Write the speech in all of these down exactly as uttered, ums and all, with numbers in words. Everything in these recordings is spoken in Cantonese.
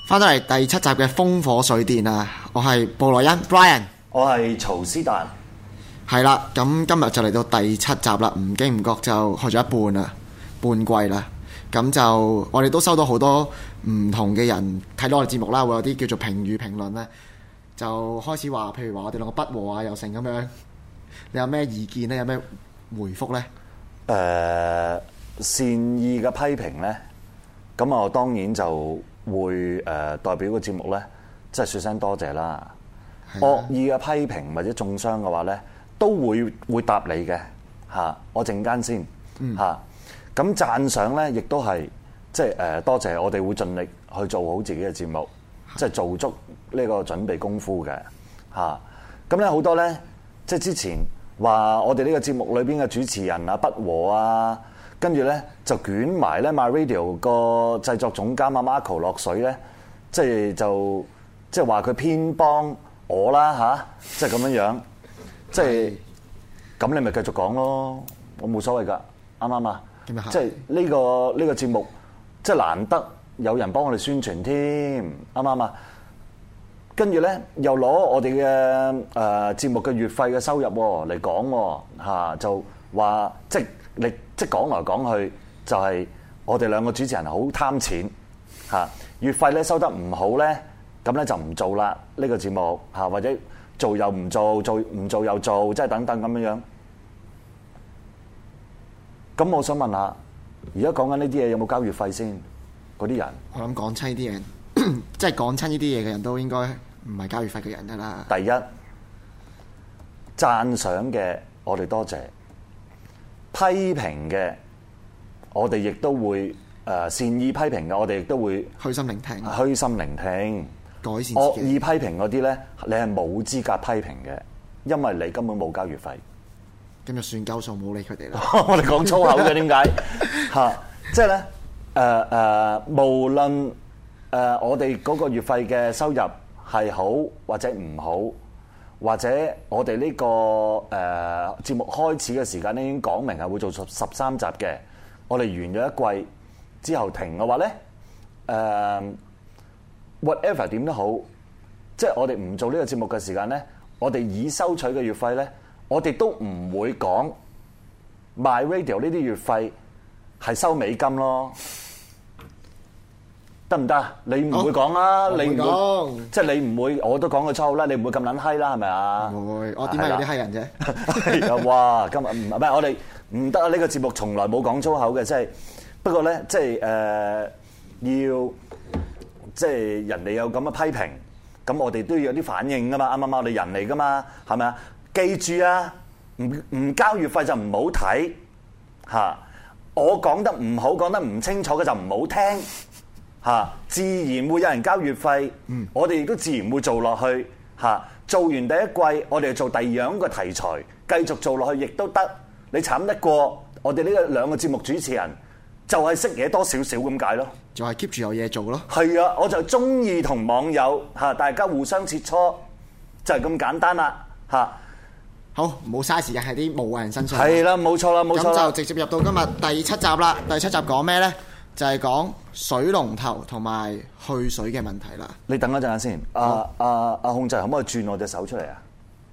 翻到嚟第七集嘅風火水電啊！我係布萊恩 Brian， 我係曹斯達。 係啦，咁今日就嚟到第七集啦，唔經唔覺就去咗一半啦，半季啦。咁就我哋都收到好多唔同嘅人睇到我哋節目啦，會有啲叫做評語評論咧，就開始話，譬如話我哋兩個不和啊，又成咁樣。你有咩意見呢？有咩回覆呢？ 誒、呃，善意嘅批評呢，咁我當然就會誒、呃、代表個節目呢，即係説聲多謝啦。惡意嘅批評或者中傷嘅話呢，都會會答你嘅嚇。我陣間先嚇。咁、嗯、讚賞呢，亦都係即係誒多謝，我哋會盡力去做好自己嘅節目，即係做足呢個準備功夫嘅嚇。咁咧好多呢，即係之前話我哋呢個節目裏邊嘅主持人啊不和啊，跟住咧就捲埋咧 MyRadio 個製作總監阿 Marco 落水咧，即係就即係話佢偏幫我啦吓，即係咁樣樣，即係咁你咪繼續講咯，我冇所謂噶，啱唔啱啊？即係呢個呢個節目即係難得有人幫我哋宣傳添，啱唔啱啊？跟住咧，又攞我哋嘅誒節目嘅月費嘅收入嚟講嚇，就話即係你即係講來講去，就係我哋兩個主持人好貪錢嚇，月費咧收得唔好咧，咁咧就唔做啦呢個節目嚇，或者做又唔做，做唔做又做，即係等等咁樣樣。咁我想問下，而家講緊呢啲嘢有冇交月費先？嗰啲人， 我諗講親呢啲嘢，即係講親呢啲嘢嘅人都應該唔係交月費嘅人㗎啦。 第一，讚賞嘅我哋多謝，批評嘅我哋亦都會誒善意批評嘅，我哋亦都會虛心聆聽， 虛心聆聽， 改善自己。 惡意批評嗰啲咧，你係冇資格批評嘅，因為你根本冇交月費。 咁就算夠數，冇理佢哋啦。 我哋講粗口嘅點解嚇？即係咧誒誒，無論誒、呃、我哋嗰個月費嘅收入係好或者唔好，或者我哋呢、這個誒、呃、節目開始嘅時間咧已經講明係會做十十三集嘅。我哋完咗一季之後停嘅話咧，誒、呃、whatever 點都好，即係我哋唔做呢個節目嘅時間咧，我哋已收取嘅月費咧，我哋都唔會講 MyRadio 呢啲月費係收美金咯。得唔得？你唔會講啦，你唔會，即係你唔會，我都講個粗口啦，你唔會咁撚閪啦，係咪啊？ 唔會，我點解有啲閪人啫？ 係啊，哇！今日唔係我哋唔得啊！呢個節目從來冇講粗口嘅，即係不過咧，即係誒要即係人哋有咁嘅批評，咁我哋都要有啲反應噶嘛，啱唔啱？我哋人嚟噶嘛，係咪啊？記住啊，唔唔交月費就唔好睇嚇，我講得唔好，講得唔清楚嘅就唔好聽。嚇，自然會有人交月費，嗯、我哋亦都自然會做落去嚇。做完第一季，我哋做第二樣嘅題材，繼續做落去亦都得。你慘得過我哋呢個兩個節目主持人，就係識嘢多少少咁解咯。 就係 keep 住有嘢做咯。係啊，我就中意同網友嚇大家互相切磋，就係、是、咁簡單啦嚇。 好，冇嘥時間喺啲無謂人身上。 係啦，冇錯啦，冇錯啦。 咁就直接入到今日第七集啦。第七集講咩咧？就係講水龍頭同埋去水嘅問題啦。 你等一陣間先，阿阿阿控制可唔可以轉我隻手出嚟啊？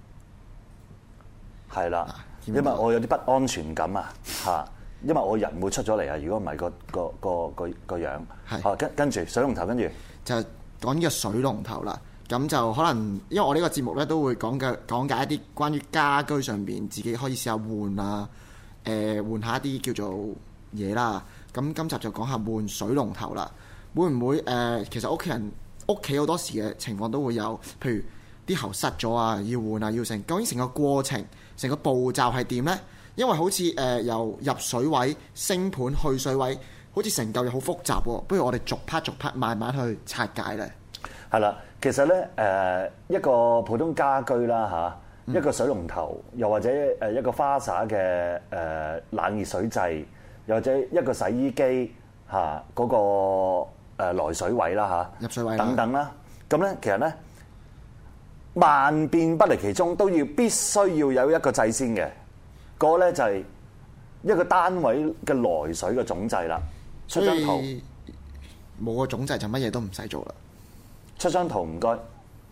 係啦，因為我有啲不安全感啊，嚇，因為我人會出咗嚟啊。如果唔係個個個個個樣，係跟跟住水龍頭，跟住就講呢個水龍頭啦。咁就可能因為我呢個節目咧都會講嘅講解一啲關於家居上邊自己可以試下換啊，誒、呃、換下一啲叫做嘢啦。咁今集就講下換水龍頭啦，會唔會誒、呃？其實屋企人屋企好多時嘅情況都會有，譬如啲喉塞咗啊，要換啊，要成。究竟成個過程、成個步驟係點呢？因為好似誒、呃、由入水位、升盤、去水位，好似成嚿嘢好複雜喎。不如我哋逐 part 逐 part 慢慢去拆解咧。係啦，其實咧誒、呃、一個普通家居啦嚇、啊，一個水龍頭，又或者誒一個花灑嘅誒冷熱水掣。又或者一個洗衣機嚇嗰個誒來水位啦嚇， 入水位等等啦，咁咧其實咧萬變不離其宗，都要必須要有一個掣先嘅，嗰個咧就係一個單位嘅來水嘅總掣啦。出張圖冇個總掣就乜嘢都唔使做啦。 出張圖唔該。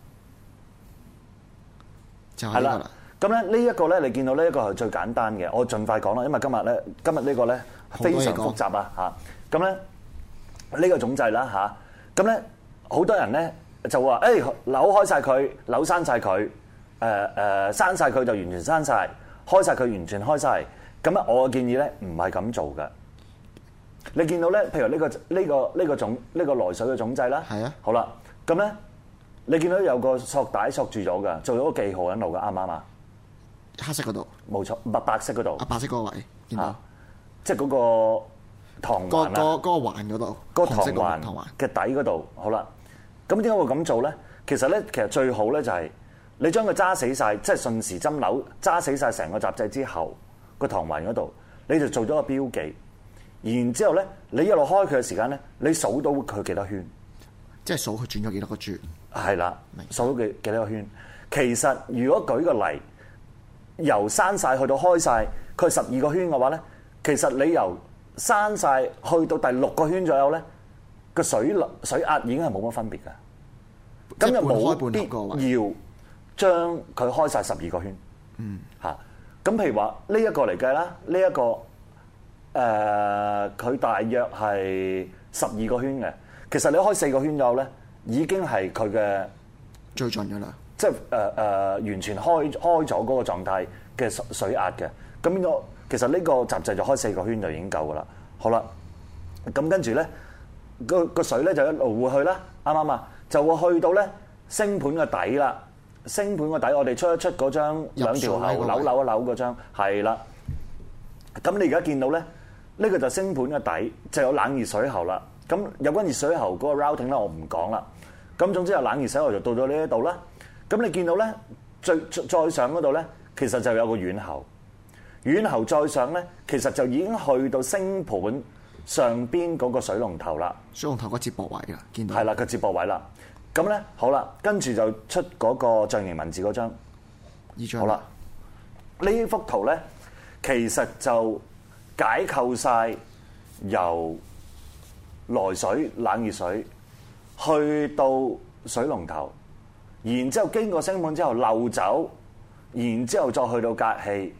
就係啦。 咁咧呢一個咧，你見到呢一個係最簡單嘅，我盡快講啦，因為今日咧今日呢個咧非常複雜啊嚇。咁咧呢個總掣啦嚇，咁咧好多人咧就話誒扭開晒佢，扭閂晒佢，誒誒閂晒佢就完全閂晒，開晒佢完全開晒。咁啊，我嘅建議咧唔係咁做嘅。你見到咧，譬如呢個呢個呢個總呢個來水嘅總掣啦， 係啊， 好啦，咁咧你見到有個索帶索住咗嘅，做咗個記號喺度嘅，啱唔啱啊？ 黑色嗰度， 冇錯，白白色嗰度。 啊，白色嗰個位見到， 啊、即係嗰個糖環啊， 嗰、嗰個嗰個環嗰度， 嗰個糖環環嘅底嗰度，好啦。咁點解會咁做咧？其實咧，其實最好咧就係你將佢揸死晒，即係順時針扭揸死晒成個閘掣之後，個糖環嗰度你就做咗個標記。然之後咧，你一路開佢嘅時間咧，你數到佢幾多圈？ 即係數佢轉咗幾多個轉？ 係啦，數到幾幾多個圈？其實如果舉個例，由閂晒去到開晒，佢十二個圈嘅話咧，其實你由閂晒去到第六個圈左右咧，個水水壓已經係冇乜分別嘅。咁就冇必要將佢開晒十二個圈。嗯，嚇。咁譬如話呢一個嚟計啦，呢、這、一個誒佢、呃、大約係十二個圈嘅。其實你開四個圈左右咧，已經係佢嘅最盡㗎啦。 即係誒誒完全開開咗嗰個狀態嘅水水壓嘅。咁變咗其實呢個閘掣就開四個圈就已經夠㗎啦。好啦，咁跟住咧個個水咧就一路會去啦，啱唔啱啊？就會去到咧升盤嘅底啦。升盤個底，我哋出一出嗰張兩條喉扭扭一扭嗰張，係啦。咁你而家見到咧，呢個就升盤嘅底，就有冷熱水喉啦。咁有關熱水喉嗰個 routing 咧，我唔講啦。咁總之有冷熱水喉就到咗呢一度啦。咁你見到咧，最再上嗰度咧，其實就有個軟喉。軟喉再上咧，其實就已經去到升盤上邊嗰個水龍頭啦。 水龍頭個接駁位啦，見到。 係啦，個接駁位啦。咁咧，好啦，跟住就出嗰個象形文字嗰張。 呢張。 好啦，呢幅圖咧，其實就解構晒由來水、冷熱水去到水龍頭，然之後經過升盤之後漏走，然之後再去到隔氣，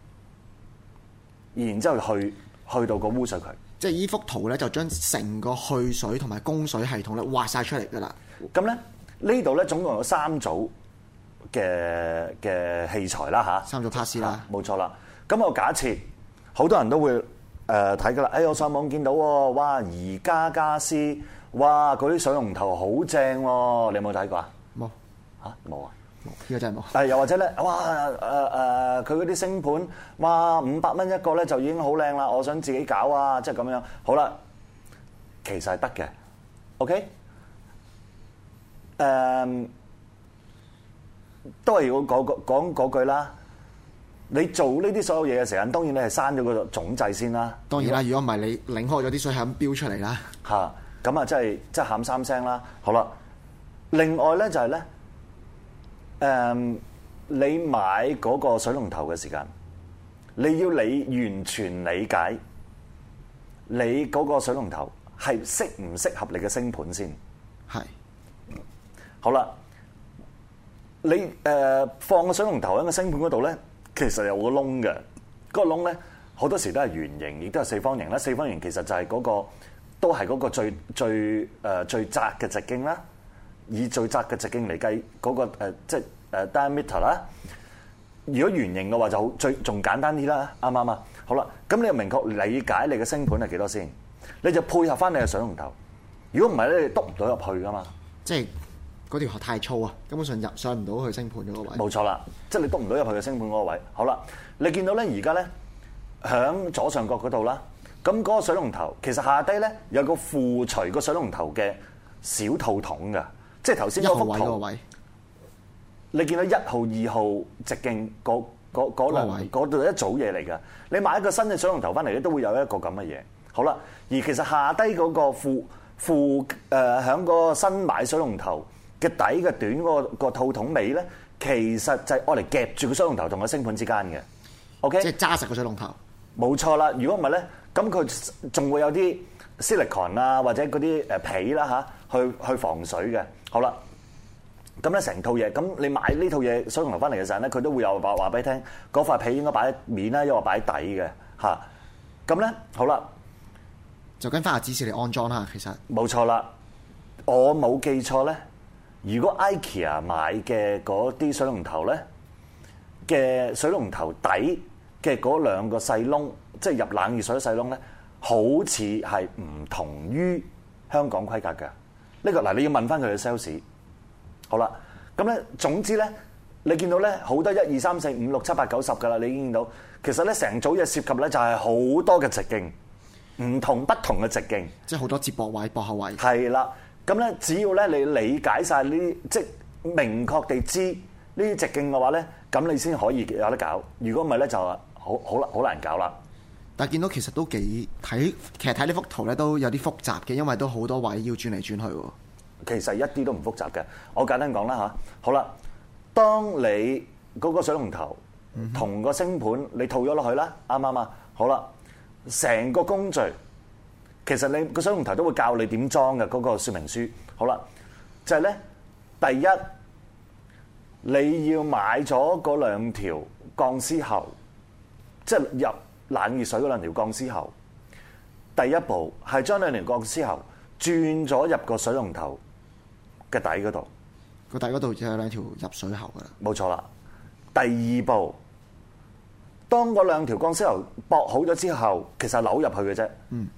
然之後去去到個污水渠。 即係依幅圖咧，就將成個去水同埋供水系統咧畫晒出嚟㗎啦。 咁咧呢度咧總共有三組嘅嘅器材啦嚇， 三組 pass 啦， 冇錯啦。咁我假設好多人都會誒睇㗎啦。誒我上網見到喎，哇！宜家家私，哇！嗰啲水龍頭好正喎，你有冇睇過啊？ 冇嚇冇啊！ 冇，呢個真係冇。 誒又或者咧，哇！誒誒佢嗰啲升盤，哇！五百蚊一個咧就已經好靚啦，我想自己搞啊，即係咁樣。好啦，其實係得嘅 ，OK。誒、um, 都係要講講嗰句啦。你做呢啲所有嘢嘅時間，當然你係刪咗個總掣先啦。 當然啦，如果唔係你擰開咗啲水係咁飆出嚟啦。 嚇，咁啊，真係即係喊三聲啦。好啦，另外咧就係、是、咧，誒、um, 你買嗰個水龍頭嘅時間，你要你完全理解你嗰個水龍頭係適唔適合你嘅升盤先。 係。 好啦，你誒、呃、放個水龍頭喺個升盤嗰度咧，其實有個窿嘅。嗰、那個窿咧好多時都係圓形，亦都係四方形啦。四方形其實就係嗰、那個都係嗰個最最誒、呃、最窄嘅直徑啦。以最窄嘅直徑嚟計，嗰、那個、呃、即係誒 diameter 啦。如果圓形嘅話就好，最仲簡單啲啦，啱唔啱啊？好啦，咁你又明確理解你嘅升盤係幾多先？你就配合翻你嘅水龍頭。如果唔係咧，你篤唔到入去噶嘛。 即係。嗰條喉太粗啊，根本上入上唔到去升盤嗰個位。冇錯啦，即係你篤唔到入去嘅升盤嗰個位。好啦，你見到咧而家咧響左上角嗰度啦，咁嗰個水龍頭其實下低咧有個附隨個水龍頭嘅小套筒㗎，即係頭先嗰幅圖。一號位嗰個位，你見到一號、二號直徑嗰嗰嗰兩嗰度一組嘢嚟㗎。你買一個新嘅水龍頭翻嚟咧，都會有一個咁嘅嘢。好啦，而其實下低嗰個附附誒響個新買水龍頭嘅底嘅短嗰個個套筒尾咧，其實就係愛嚟夾住個水龍頭同個升盤之間嘅 ，OK？ 即係揸實個水龍頭。 冇錯啦，如果唔係咧，咁佢仲會有啲 silicon 啊或者嗰啲誒皮啦嚇， 去去防水嘅。好啦，咁咧成套嘢，咁你買呢套嘢水龍頭翻嚟嘅時候咧，佢都會有話話俾你聽，嗰塊皮應該擺喺面啦，抑或擺喺底嘅嚇。咁咧好啦， 就跟翻下指示嚟安裝啦。其實冇錯啦，我冇記錯咧，如果 IKEA 買嘅嗰啲水龍頭咧嘅水龍頭底嘅嗰兩個細窿，即係入冷熱水細窿咧，好似係唔同於香港規格嘅。呢個嗱，你要問翻佢嘅 sales。好啦，咁咧總之咧，你見到咧好多一二三四五六七八九十噶啦，你已經見到其實咧成組嘢涉及咧就係好多嘅直徑，唔同不同嘅直徑， 即係好多接駁位、駁口位。係啦，咁咧只要咧你理解晒呢啲，即係明確地知呢啲直徑嘅話咧，咁你先可以有得搞。如果唔係咧，就好好難好難搞啦。 但係見到其實都幾睇，其實睇呢幅圖咧都有啲複雜嘅，因為都好多位要轉嚟轉去喎。 其實一啲都唔複雜嘅，我簡單講啦嚇。好啦，當你嗰個水龍頭同個星盤你套咗落去啦，啱唔啱啊？好啦，成個工序其實你個水龍頭都會教你點裝嘅嗰個說明書。好啦，就係咧，第一你要買咗嗰兩條鋼絲喉，即係入冷熱水嗰兩條鋼絲喉。第一步係將兩條鋼絲喉轉咗入個水龍頭嘅底嗰度， 個底嗰度就有兩條入水喉噶啦。 冇錯啦。第二步，當嗰兩條鋼絲喉駁好咗之後，其實扭入去嘅啫。嗯。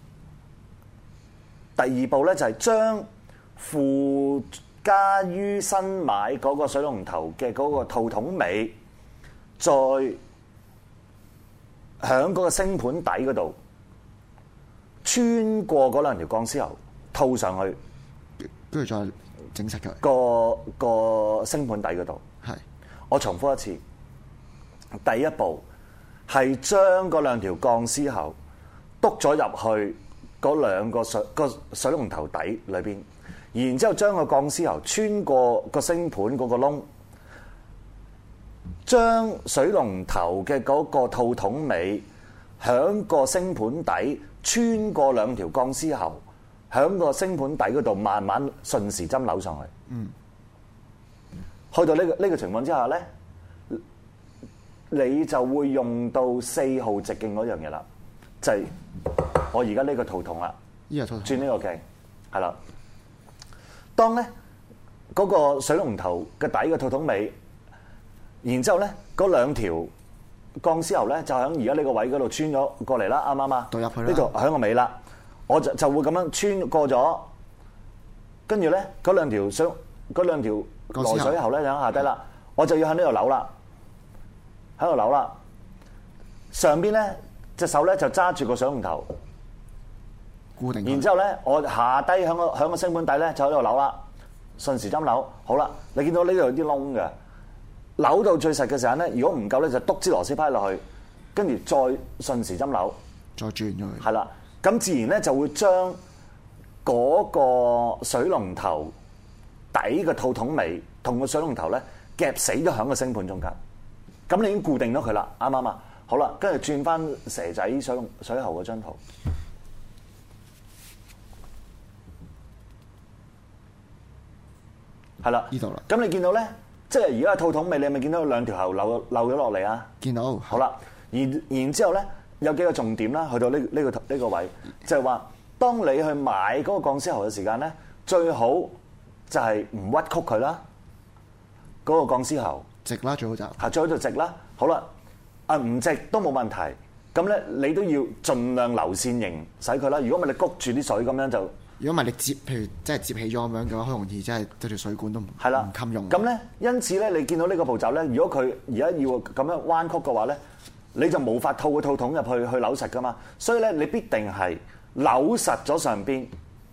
第二步咧就係將附加於新買嗰個水龍頭嘅嗰個套筒尾，再響嗰個星盤底嗰度穿過嗰兩條鋼絲喉套上去， 跟住再整實佢個個星盤底嗰度。 係， 我重複一次，第一步係將嗰兩條鋼絲喉篤咗入去嗰兩個水個水龍頭底裏邊，然之後將個鋼絲喉穿過個星盤嗰個窿，將水龍頭嘅嗰個套筒尾響個星盤底穿過兩條鋼絲喉，響個星盤底嗰度慢慢順時針扭上去。嗯，去到呢個呢個情況之下咧，你就會用到四號直徑嗰樣嘢啦，就係我而家呢個套筒啦， 呢個套筒轉呢個鏡，係啦。當咧嗰個水龍頭嘅底嘅套筒尾，然之後咧嗰兩條鋼絲喉咧就喺而家呢個位嗰度穿咗過嚟啦，啱唔啱啊？ 對入去啦， 呢度喺個尾啦，我就就會咁樣穿過咗，跟住咧嗰兩條水嗰兩條來水喉咧就喺下低啦，我就要喺呢度扭啦，喺度扭啦，上邊咧隻手咧就揸住個水龍頭。 固定， 然之後咧，我下低喺個喺個星盤底咧就喺度扭啦，順時針扭。好啦，你見到呢度有啲窿嘅，扭到最實嘅時候咧，如果唔夠咧，就篤支螺絲批落去，跟住再順時針扭， 再轉咗去。 係啦，咁自然咧就會將嗰個水龍頭底嘅套筒尾同個水龍頭咧夾死咗喺個星盤中間。咁你已經固定咗佢啦，啱唔啱啊？好啦，跟住轉翻蛇仔水龍水喉嗰張圖。係啦， 呢度啦。 咁你見到咧，即係而家套筒尾，你係咪見到兩條喉漏漏咗落嚟啊？ 見到。 好啦，然然之後咧，有幾個重點啦，去到呢呢個呢個位，就係話，當你去買嗰個鋼絲喉嘅時間咧，最好就係唔屈曲佢啦，嗰個鋼絲喉直啦，最好就係最好就直啦。好啦，啊唔直都冇問題，咁咧你都要盡量流線型使佢啦。如果唔係你谷住啲水咁樣就。如果唔係你接，譬如即係接起咗咁樣嘅話，好容易真係對條水管都唔係啦， 唔襟用。 咁咧，因此咧，你見到呢個步驟咧，如果佢而家要咁樣彎曲嘅話咧，你就冇法套個套筒入去去扭實噶嘛。所以咧，你必定係扭實咗上邊，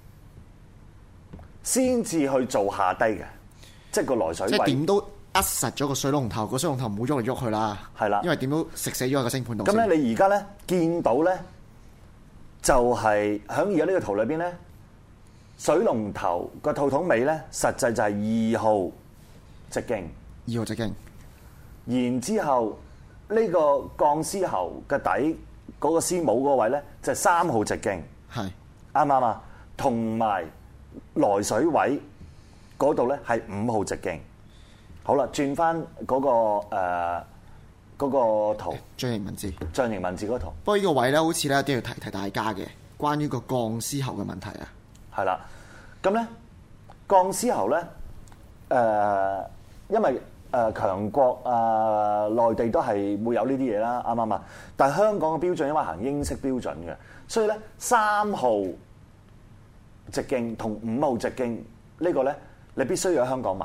先至去做下低嘅，即係個來水位。 即係點都扼實咗個水龍頭，個水龍頭唔好喐嚟喐去啦。係啦，因為點都食死咗喺個星盤度。 咁咧，你而家咧見到咧，就係喺而家呢個圖裏邊咧。水龍頭個套筒尾咧，實際就係二號直徑。 二號直徑。 然之後呢個鋼絲喉嘅底嗰個絲母嗰個位咧，就係三號直徑。係啱唔啱啊？同埋來水位嗰度咧係五號直徑。好啦，轉翻嗰個誒嗰個圖， 象形文字， 象形文字嗰圖。 不過呢個位咧，好似咧都要提提大家嘅，關於個鋼絲喉嘅問題啊。 係啦，咁咧鋼絲喉咧誒、呃，因為誒、呃、強國啊、呃、內地都係會有呢啲嘢啦，啱唔啱啊？但係香港嘅標準因為行英式標準嘅，所以咧三號直徑同五號直徑呢個咧，你必須要喺香港買。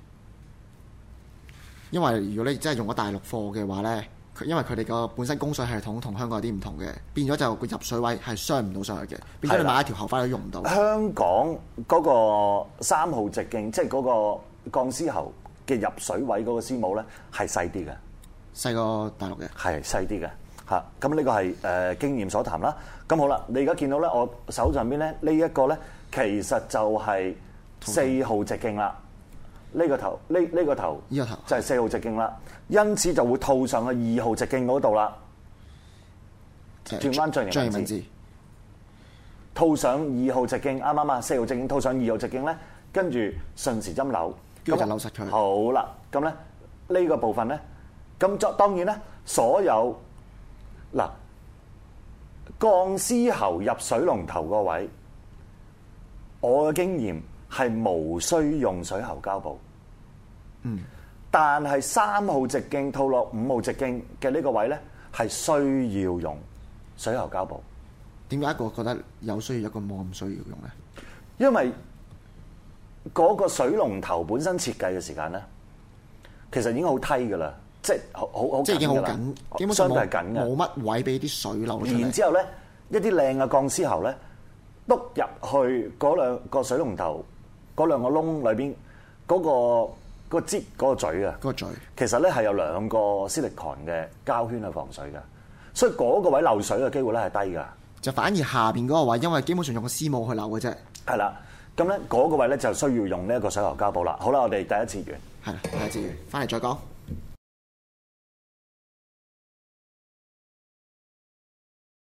因為如果你真係用咗大陸貨嘅話咧，佢因為佢哋個本身供水系統同香港有啲唔同嘅，變咗就個入水位係雙唔到上去嘅，變咗你買一條喉返都用唔到。 香港嗰個三號直徑，即係嗰個鋼絲喉嘅入水位嗰個絲母咧，係細啲嘅， 細過大陸嘅， 係細啲嘅嚇。咁呢個係誒、呃、經驗所談啦。咁好啦，你而家見到咧，我手上邊咧呢一個咧，其實就係四號直徑啦。呢、這個頭，呢、這、呢個頭， 呢個頭就係四號直徑啦，因此就會套上去二號直徑嗰度啦。轉翻象形文字，套上二號直徑，啱啱啊？四號直徑套上二號直徑咧，跟住順時針扭， 跟住就扭實佢。 好啦，咁咧呢個部分咧，咁作當然咧，所有嗱鋼絲喉入水龍頭個位，我嘅經驗。係無需用水喉膠布， 嗯， 但係三號直徑套落五號直徑嘅呢個位咧，係需要用水喉膠布。 點解一個覺得有需要，一個冇咁需要用咧？ 因為嗰個水龍頭本身設計嘅時間咧，其實已經好梯噶啦，即係好好好， 即係已經好緊，基本上相對係緊嘅， 冇乜位俾啲水流出嚟。 然之後咧，一啲靚嘅鋼絲喉咧，篤入去嗰兩個水龍頭。嗰兩個窿裏邊嗰個嗰個擠嗰個嘴啊， 嗰個嘴其實咧係有兩個 silicon 嘅膠圈去防水嘅，所以嗰個位漏水嘅機會咧係低㗎。 就反而下邊嗰個位，因為基本上用個絲母去漏嘅啫。 係啦，咁咧嗰個位咧就需要用呢一個水喉膠布啦。好啦，我哋第一次完。 係啦，第一次完，翻嚟再講。